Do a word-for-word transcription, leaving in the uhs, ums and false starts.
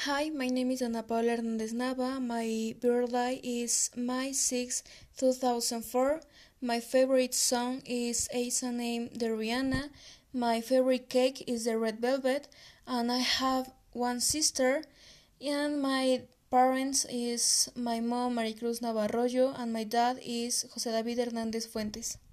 Hi, my name is Ana Paula Hernandez Nava. My birthday is May sixth, two thousand four. My favorite song is A Song Named the Rihanna. My favorite cake is the red velvet, and I have one sister. And my parents is my mom Maricruz Navarroyo and my dad is José David Hernandez Fuentes.